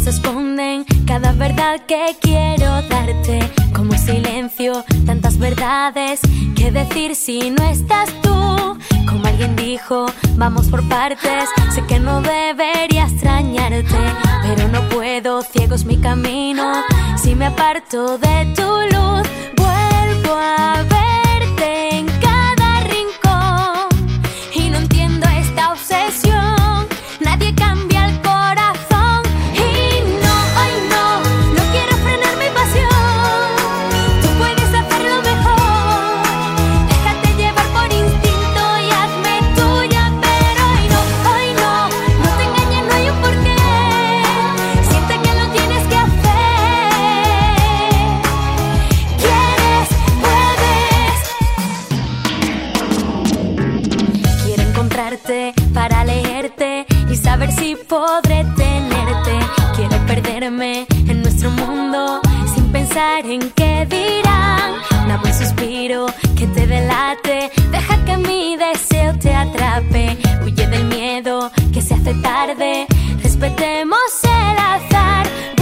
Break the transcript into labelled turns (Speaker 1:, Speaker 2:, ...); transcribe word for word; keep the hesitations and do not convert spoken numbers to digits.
Speaker 1: esconden cada verdad que quiero darte. Como silencio, tantas verdades que decir si no estás tú. Como alguien dijo, vamos por partes. Sé que no debería extrañarte, pero no puedo, ciego es mi camino. Si me aparto de tu luz, vuelvo a verte en cada rincón. Y no entiendo esta obsesión, nadie cambia el corazón. Y no, ay no, no quiero frenar mi pasión. Tú puedes hacerlo mejor, déjate llevar por instinto y hazme tuya. Pero ay no, ay no, no te engañes, no hay un porqué. Siente que lo tienes que hacer. Quieres, puedes. Quiero encontrarte para leerte y saber si podré tenerte. Quiero perderme en nuestro mundo sin pensar en qué dirán. Una buen suspiro que te delate, deja que mi deseo te atrape. Huye del miedo que se hace tarde, respetemos el azar.